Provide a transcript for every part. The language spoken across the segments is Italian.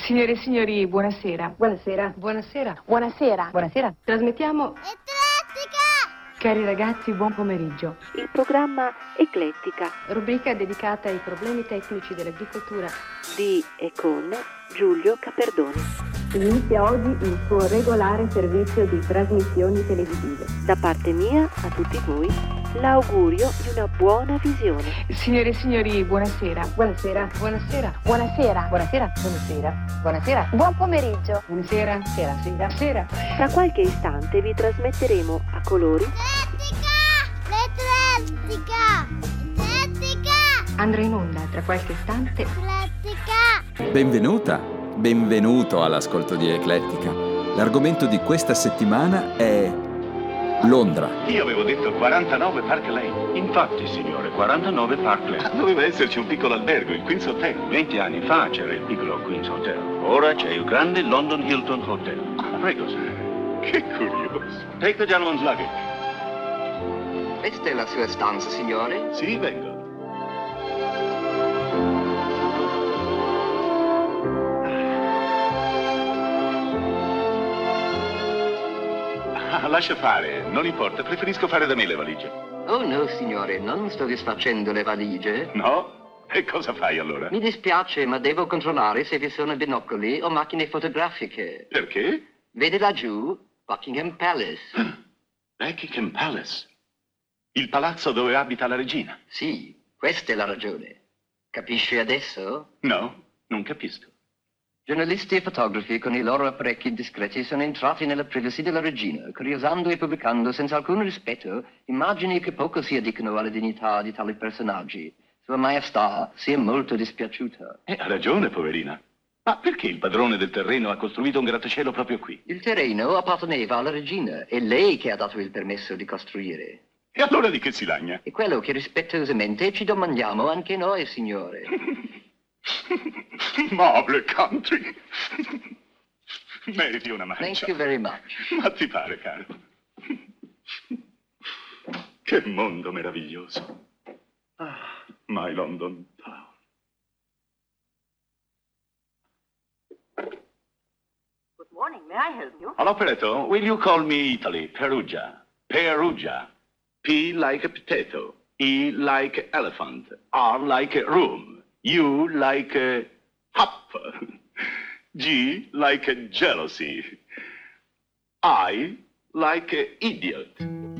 Signore e signori, buonasera. Buonasera. Buonasera. Buonasera. Buonasera. Trasmettiamo... Eclettica! Cari ragazzi, buon pomeriggio. Il programma Eclettica Rubrica dedicata ai problemi tecnici dell'agricoltura di e con Giulio Caperdoni. Inizia oggi il suo regolare servizio di trasmissioni televisive. Da parte mia a tutti voi l'augurio di una buona visione. Signore e signori, buonasera. Buonasera. Buonasera. Buonasera. Buonasera. Buonasera. Buonasera. Buon pomeriggio! Buonasera. Sera. Sera. Sera. Tra qualche istante vi trasmetteremo a colori L'Eclettica! Andrà in onda tra qualche istante. L'Eclettica! Benvenuto all'ascolto di Eclettica. L'argomento di questa settimana è Londra. Io avevo detto 49 Park Lane. Infatti, signore, 49 Park Ma Lane. doveva esserci un piccolo albergo, il Queen's Hotel. 20 anni fa c'era il piccolo Queen's Hotel. Ora c'è il grande London Hilton Hotel. Prego, sir. Che curioso. Take the gentleman's luggage. Questa è la sua stanza, signore? Sì, vengo. Lascia fare, non importa, preferisco fare da me le valigie. Oh no, signore, non sto disfacendo le valigie. No? E cosa fai allora? Mi dispiace, ma devo controllare se vi sono binocoli o macchine fotografiche. Perché? Vede laggiù Buckingham Palace. Buckingham Palace. Il palazzo dove abita la regina. Sì, questa è la ragione. Capisci adesso? No, non capisco. Giornalisti e fotografi con i loro apparecchi discreti sono entrati nella privacy della regina, curiosando e pubblicando senza alcun rispetto immagini che poco si addicono alla dignità di tali personaggi. Sua Maestà si è molto dispiaciuta. Ha ragione, poverina. Ma perché il padrone del terreno ha costruito un grattacielo proprio qui? Il terreno apparteneva alla regina, è lei che ha dato il permesso di costruire. E allora di che si lagna? È quello che rispettosamente ci domandiamo anche noi, signore. Mobile country. Meriti una mancia. Thank you very much. Ma ti pare, caro? Che mondo meraviglioso. Ah, my London town. Good morning, may I help you? All'operato, will you call me Italy, Perugia? Perugia. P like a potato. E like elephant. R like room. U like up. G like jealousy. I like idiot.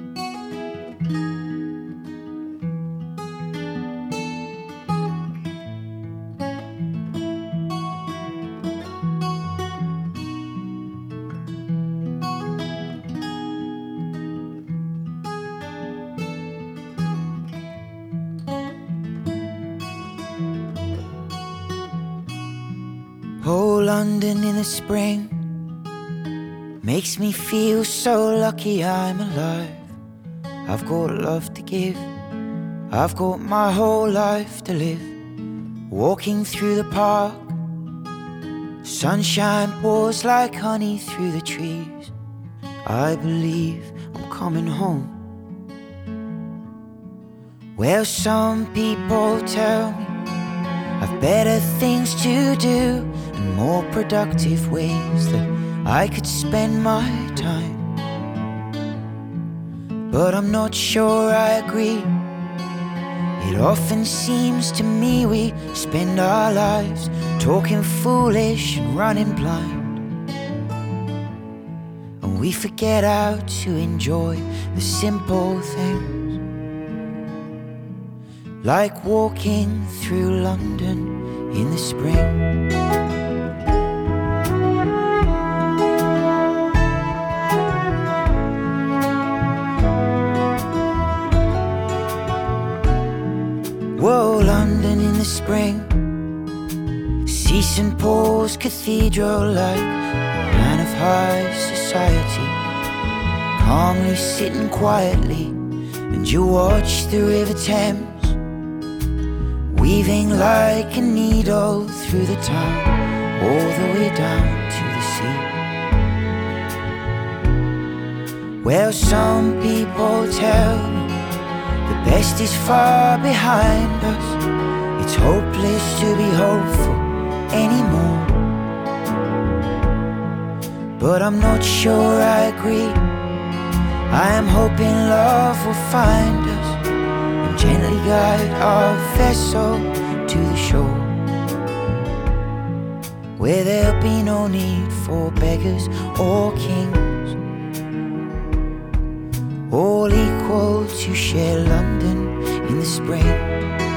Oh, London in the spring makes me feel so lucky I'm alive. I've got love to give, I've got my whole life to live. Walking through the park, sunshine pours like honey through the trees. I believe I'm coming home. Well, some people tell me I've better things to do and more productive ways that I could spend my time. But I'm not sure I agree. It often seems to me we spend our lives talking foolish and running blind, and we forget how to enjoy the simple things, like walking through London in the spring. Whoa, London in the spring. See St. Paul's Cathedral like a man of high society, calmly sitting quietly, and you watch the River Thames weaving like a needle through the town, all the way down to the sea. Well, some people tell me the best is far behind us. It's hopeless to be hopeful anymore. but I'm not sure I agree. I am hoping love will find us and gently guide our vessel to the shore, where there'll be no need for beggars or kings, all equal to share London in the spring.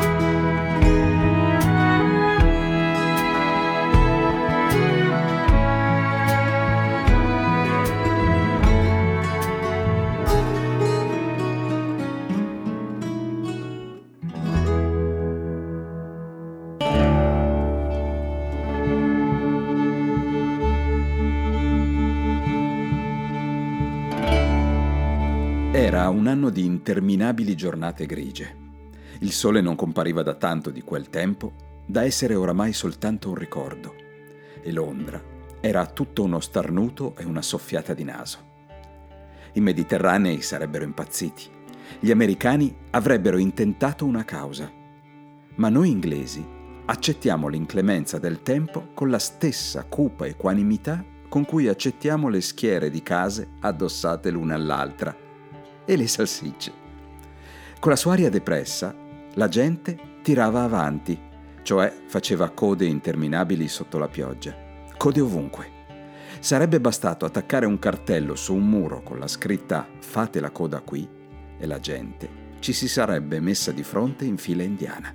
Era un anno di interminabili giornate grigie. Il sole non compariva da tanto di quel tempo da essere oramai soltanto un ricordo. E Londra era tutto uno starnuto e una soffiata di naso. I mediterranei sarebbero impazziti. Gli americani avrebbero intentato una causa. Ma noi inglesi accettiamo l'inclemenza del tempo con la stessa cupa equanimità con cui accettiamo le schiere di case addossate l'una all'altra e le salsicce. Con la sua aria depressa, la gente tirava avanti, cioè faceva code interminabili sotto la pioggia. Code ovunque. Sarebbe bastato attaccare un cartello su un muro con la scritta "Fate la coda qui" e la gente ci si sarebbe messa di fronte in fila indiana.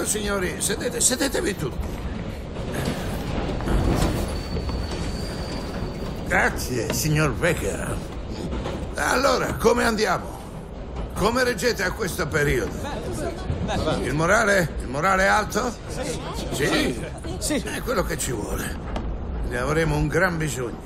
signori, sedetevi tutti. Grazie, signor Becker. Allora, come andiamo? Come reggete a questo periodo? Il morale è alto? Sì. È quello che ci vuole. Ne avremo un gran bisogno.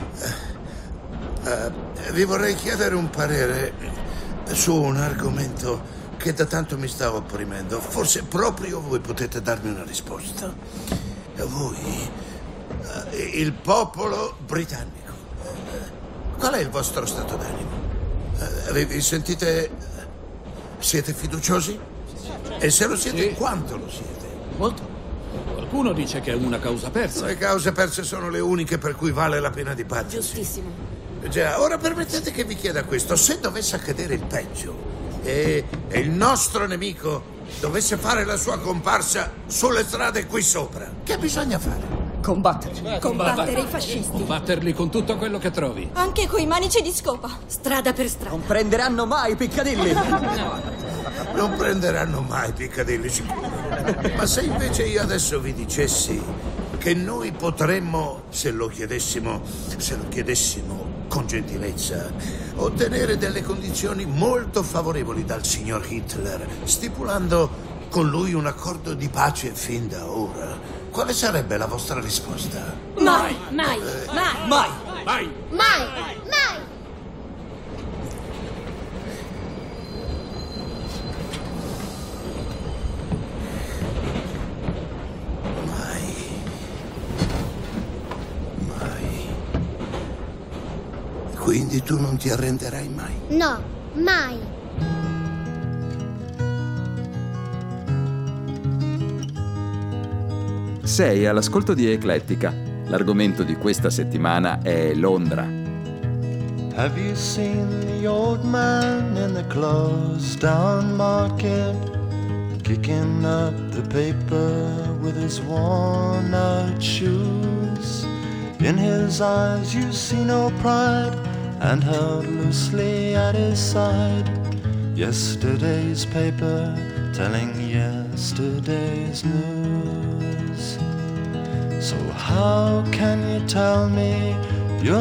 Vi vorrei chiedere un parere su un argomento che da tanto mi stava opprimendo. Forse proprio voi potete darmi una risposta. Voi, il popolo britannico. Qual è il vostro stato d'animo? Vi sentite... siete fiduciosi? E se lo siete, quanto lo siete? Molto. Qualcuno dice che è una causa persa. Le cause perse sono le uniche per cui vale la pena dibattersi. Giustissimo. Già, ora permettete che vi chieda questo. Se dovesse accadere il peggio e il nostro nemico dovesse fare la sua comparsa sulle strade qui sopra, che bisogna fare? Combattere i fascisti. Combatterli con tutto quello che trovi. Anche coi manici di scopa. Strada per strada. Non prenderanno mai Piccadilly. Non prenderanno mai Piccadilly, sicuro. Ma se invece io adesso vi dicessi che noi potremmo, se lo chiedessimo con gentilezza, ottenere delle condizioni molto favorevoli dal signor Hitler, stipulando con lui un accordo di pace fin da ora, quale sarebbe la vostra risposta? Mai. Quindi tu non ti arrenderai mai? No, mai. Sei all'ascolto di Eclettica. L'argomento di questa settimana è Londra. Have you seen the old man in the closed down market, kicking up the paper with his worn out shoes? In his eyes you see no pride, and held loosely at his side yesterday's paper telling yesterday's news. So how can you tell me you're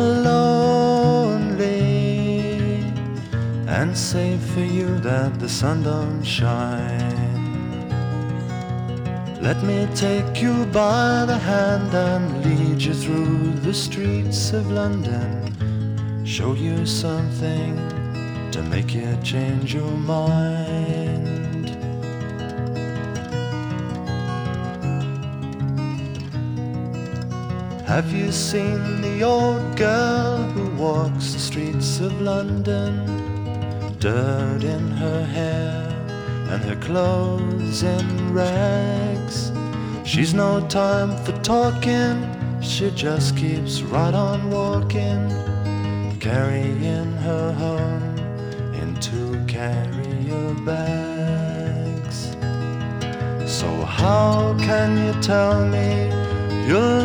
lonely and say for you that the sun don't shine? Let me take you by the hand and lead you through the streets of London, show you something to make you change your mind. Have you seen the old girl who walks the streets of London? Dirt in her hair and her clothes in rags. She's no time for talking, she just keeps right on walking, carrying her home in 2 carrier bags. So how can you tell me you're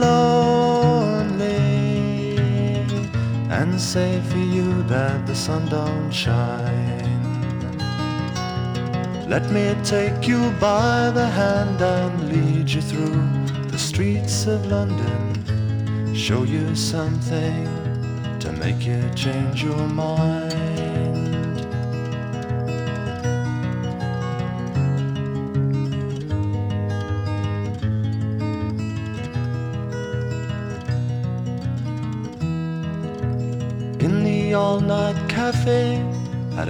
lonely and say for you that the sun don't shine? Let me take you by the hand and lead you through the streets of London, show you something to make you change your mind. In the all-night cafe at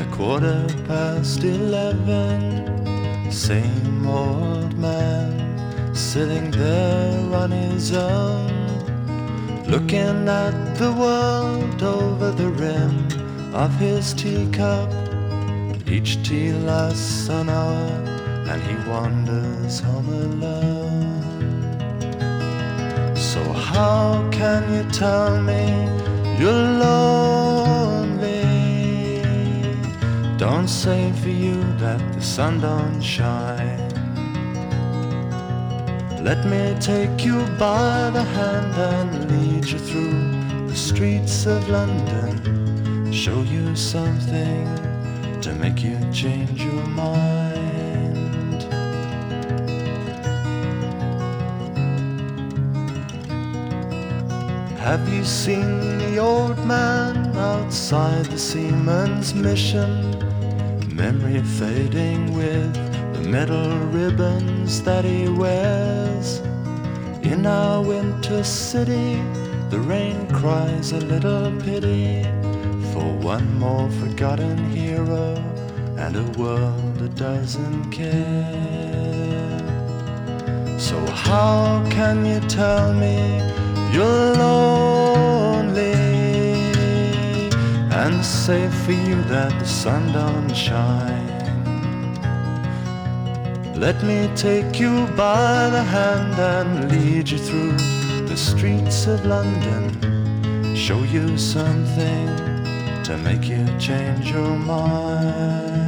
11:15, same old man sitting there on his own, looking at the world over the rim of his teacup. Each tea lasts an hour and he wanders home alone. So how can you tell me you're lonely? Don't say for you that the sun don't shine. Let me take you by the hand and lead you through the streets of London, show you something to make you change your mind. Have you seen the old man outside the seaman's mission? Memory fading with the metal ribbons that he wears. In our winter city, the rain cries a little pity for one more forgotten hero and a world that doesn't care. So how can you tell me you're lonely and say for you that the sun don't shine? Let me take you by the hand and lead you through the streets of London, show you something to make you change your mind.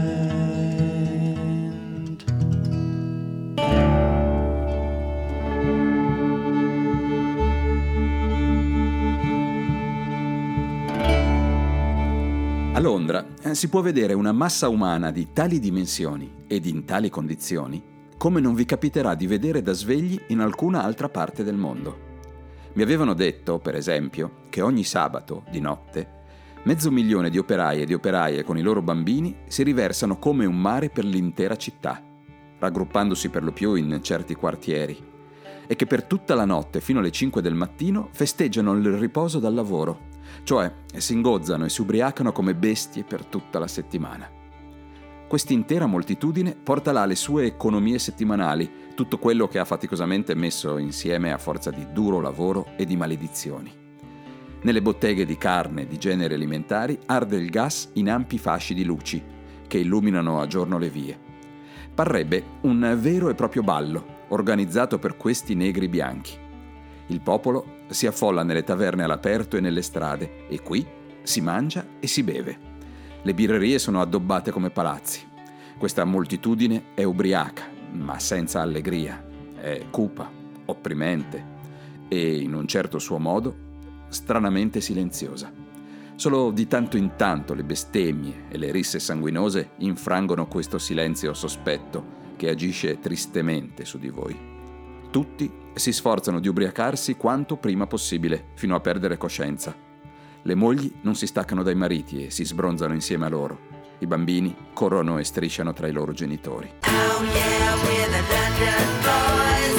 A Londra si può vedere una massa umana di tali dimensioni ed in tali condizioni come non vi capiterà di vedere da svegli in alcuna altra parte del mondo. Mi avevano detto, per esempio, che ogni sabato, di notte, 500.000 di operai e di operaie con i loro bambini si riversano come un mare per l'intera città, raggruppandosi per lo più in certi quartieri, e che per tutta la notte fino alle 5 del mattino festeggiano il riposo dal lavoro, cioè si ingozzano e si ubriacano come bestie per tutta la settimana. Quest'intera moltitudine porta là le sue economie settimanali, tutto quello che ha faticosamente messo insieme a forza di duro lavoro e di maledizioni. Nelle botteghe di carne e di generi alimentari arde il gas in ampi fasci di luci che illuminano a giorno le vie. Parrebbe un vero e proprio ballo organizzato per questi negri bianchi. Il popolo si affolla nelle taverne all'aperto e nelle strade e qui si mangia e si beve. Le birrerie sono addobbate come palazzi. Questa moltitudine è ubriaca, ma senza allegria. È cupa, opprimente e, in un certo suo modo, stranamente silenziosa. Solo di tanto in tanto le bestemmie e le risse sanguinose infrangono questo silenzio sospetto che agisce tristemente su di voi. Tutti si sforzano di ubriacarsi quanto prima possibile, fino a perdere coscienza. Le mogli non si staccano dai mariti e si sbronzano insieme a loro. I bambini corrono e strisciano tra i loro genitori. Oh yeah, we're the London boys.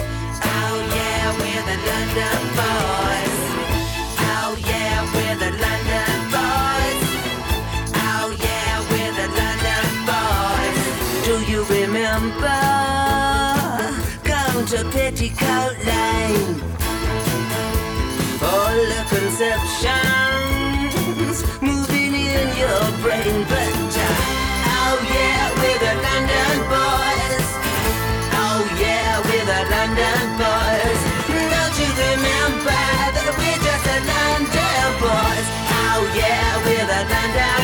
Oh yeah, we're the London boys. Oh yeah, we're the London boys. Oh yeah, we're the London boys. Do you remember going to Petticoat Lane? All the conceptions moving in your brain, but oh yeah, we're the London boys. Oh yeah, we're the London boys. Don't you remember that we're just the London boys? Oh yeah, we're the London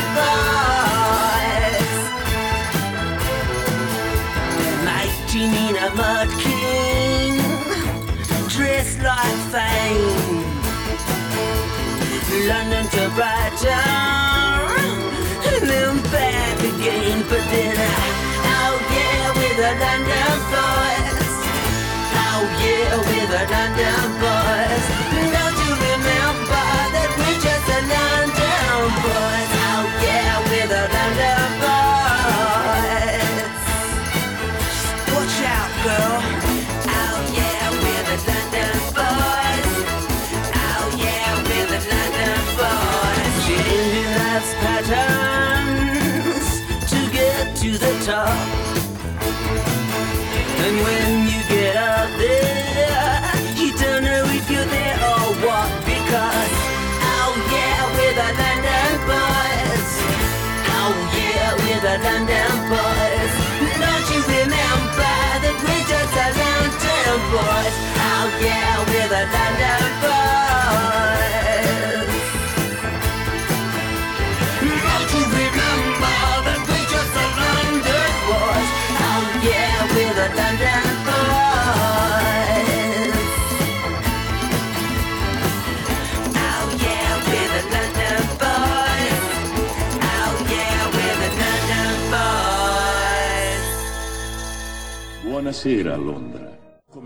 boys. Mighty Nina Mudkin, dressed like fame. London to Brighton, and then back again. But then, oh yeah, we're the London boys. Oh yeah, we're the London boys. Don't you remember that we're just the London boys? Oh yeah, we're the London boys. Watch out, girl. Oh yeah, we're the London boys. Oh yeah, we're the London boys. Changing life's patterns to get to the top. And when you get up there, you don't know if you're there or what. Because, oh yeah, we're the London boys. Oh yeah, we're the London boys. Don't you remember that we're just the London boys? Oh yeah, we're the London boys. Don't you remember that we're just the London boys? Oh yeah, we're the London boys. Oh yeah, we're the London boys. Oh yeah, we're the London boys. Buonasera a Londra. Come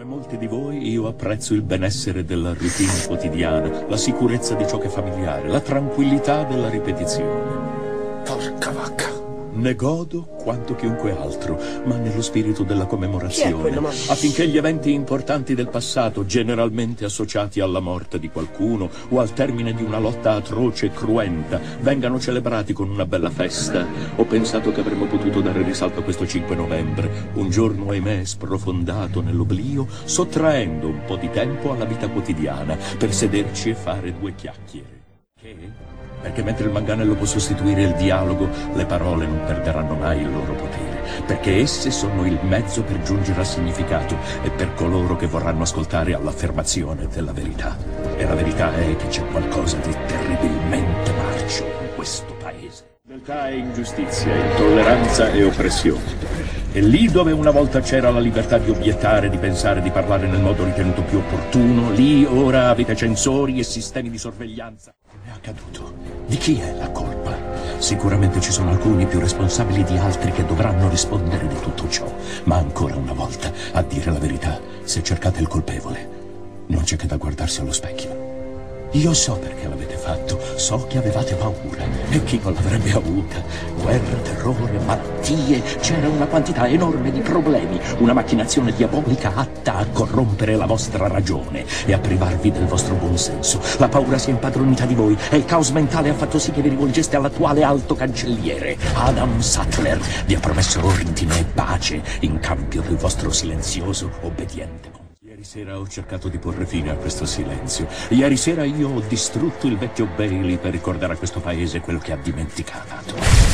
molti di voi io apprezzo il benessere della routine quotidiana, la sicurezza di ciò che è familiare, la tranquillità della ripetizione. Porca vacca. Ne godo quanto chiunque altro, ma nello spirito della commemorazione, affinché gli eventi importanti del passato, generalmente associati alla morte di qualcuno o al termine di una lotta atroce e cruenta, vengano celebrati con una bella festa. Ho pensato che avremmo potuto dare risalto a questo 5 novembre, un giorno ahimè sprofondato nell'oblio, sottraendo un po' di tempo alla vita quotidiana per sederci e fare due chiacchiere. Che? Perché mentre il manganello può sostituire il dialogo, le parole non perderanno mai il loro potere, perché esse sono il mezzo per giungere al significato e per coloro che vorranno ascoltare all'affermazione della verità. E la verità è che c'è qualcosa di terribilmente marcio in questo paese. Realtà e ingiustizia, intolleranza e oppressione. E lì dove una volta c'era la libertà di obiettare, di pensare, di parlare nel modo ritenuto più opportuno, lì ora avete censori e sistemi di sorveglianza. È accaduto. Di chi è la colpa? Sicuramente ci sono alcuni più responsabili di altri che dovranno rispondere di tutto ciò. Ma ancora una volta, a dire la verità, se cercate il colpevole, non c'è che da guardarsi allo specchio. Io so perché l'avete fatto, so che avevate paura, e chi non l'avrebbe avuta? Guerra, terrore, malattie, c'era una quantità enorme di problemi, una macchinazione diabolica atta a corrompere la vostra ragione e a privarvi del vostro buonsenso. La paura si è impadronita di voi e il caos mentale ha fatto sì che vi rivolgeste all'attuale alto cancelliere. Adam Sattler vi ha promesso ordine e pace in cambio del vostro silenzioso obbediente. Ieri sera ho cercato di porre fine a questo silenzio. Ieri sera io ho distrutto il vecchio Bailey per ricordare a questo paese quello che ha dimenticato.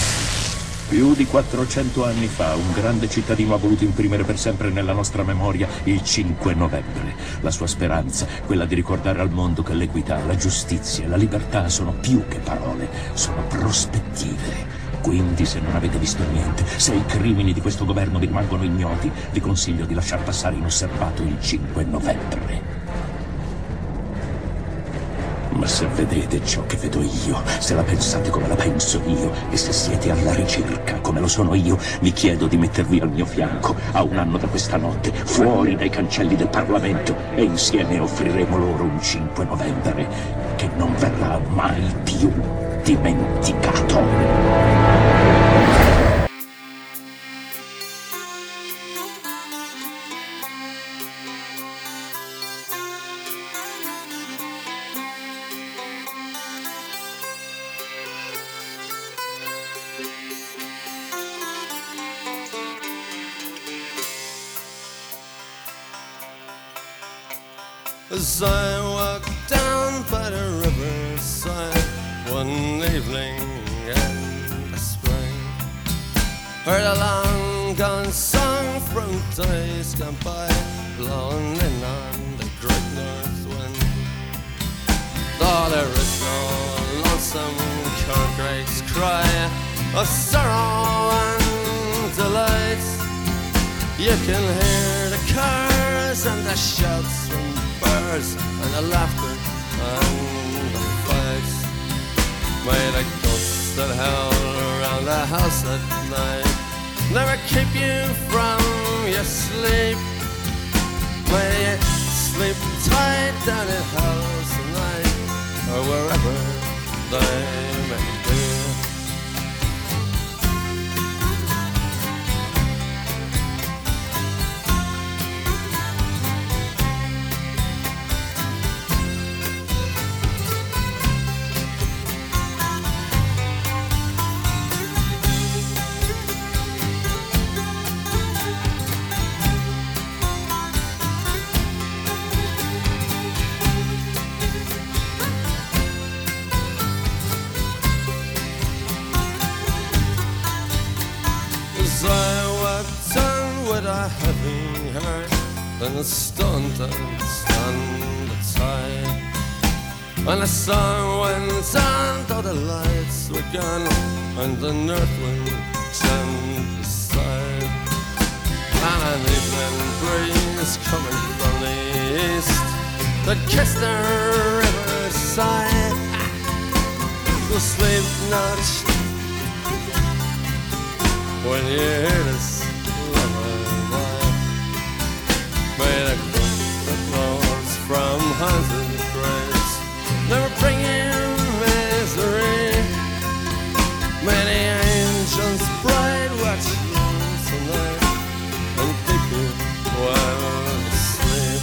Più di 400 anni fa un grande cittadino ha voluto imprimere per sempre nella nostra memoria il 5 novembre. La sua speranza, quella di ricordare al mondo che l'equità, la giustizia e la libertà sono più che parole, sono prospettive. Quindi, se non avete visto niente, se i crimini di questo governo vi rimangono ignoti, vi consiglio di lasciar passare inosservato il 5 novembre. Ma se vedete ciò che vedo io, se la pensate come la penso io, e se siete alla ricerca come lo sono io, vi chiedo di mettervi al mio fianco a un anno da questa notte, fuori dai cancelli del Parlamento, e insieme offriremo loro un 5 novembre che non verrà mai più dimenticato. As I walked down by the riverside one evening in the spring, heard a long-gone song from days gone by, blowing in on the great north wind. Though there is no lonesome corncrakes cry of sorrow and delight, you can hear the cars and the shouts from birds and the laughter and the fights. May the ghosts that howl around the house at night never keep you from your sleep. May you sleep tight down in house tonight or wherever they may be. And the stone don't stand the tide. When the sun went on, though the lights were gone, and the north wind turned aside, and an evening breeze coming from the east that kissed the riverside. So sleep not when you hear this lullaby. May the hundred friends, never bringing misery. Many angels bright watching tonight and people while asleep.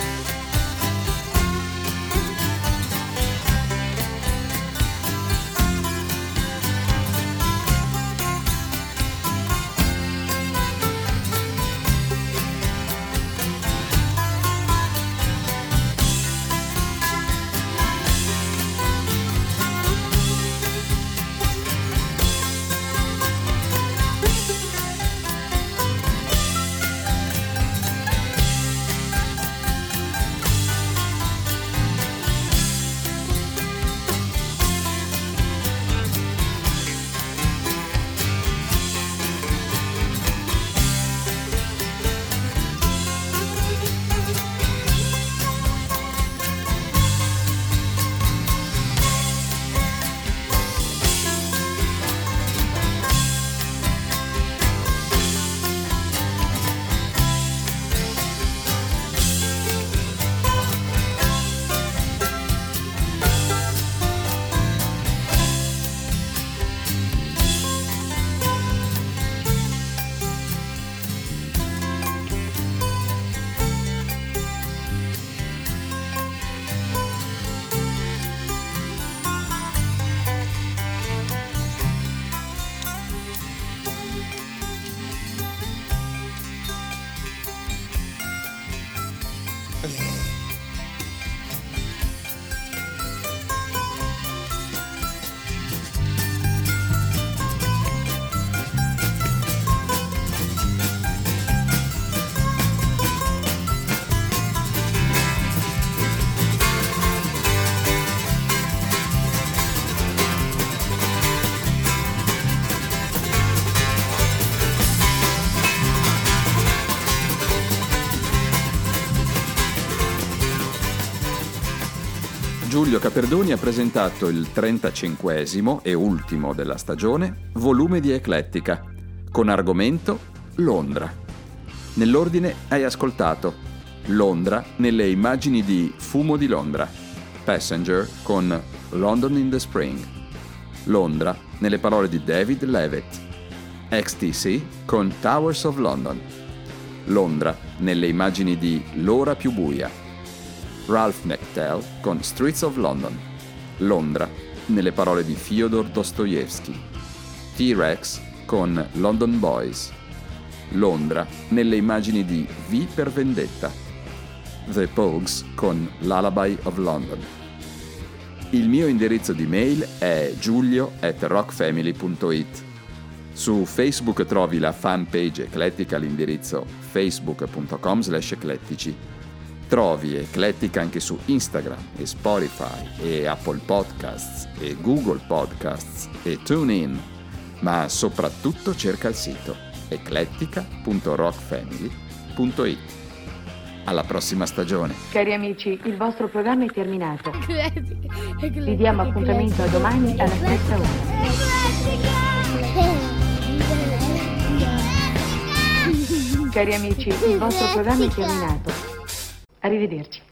Giulio Caperdoni ha presentato il 35esimo e ultimo della stagione volume di Eclettica, con argomento Londra. Nell'ordine hai ascoltato Londra nelle immagini di Fumo di Londra, Passenger con London in the Spring, Londra nelle parole di David Levitt, XTC con Towers of London, Londra nelle immagini di L'ora più buia, Ralph Nectel con Streets of London, Londra nelle parole di Fyodor Dostoevsky, T-Rex con London Boys, Londra nelle immagini di V per Vendetta, The Pogues con Lullaby of London. Il mio indirizzo di mail è giulio@rockfamily.it. Su Facebook trovi la fanpage Eclettica all'indirizzo facebook.com/eclettici. Trovi Eclettica anche su Instagram e Spotify e Apple Podcasts e Google Podcasts e TuneIn, ma soprattutto cerca il sito eclettica.rockfamily.it. Alla prossima stagione. Cari amici, il vostro programma è terminato. Vi diamo appuntamento a domani alla stessa ora. Cari amici, il vostro programma è terminato. Arrivederci.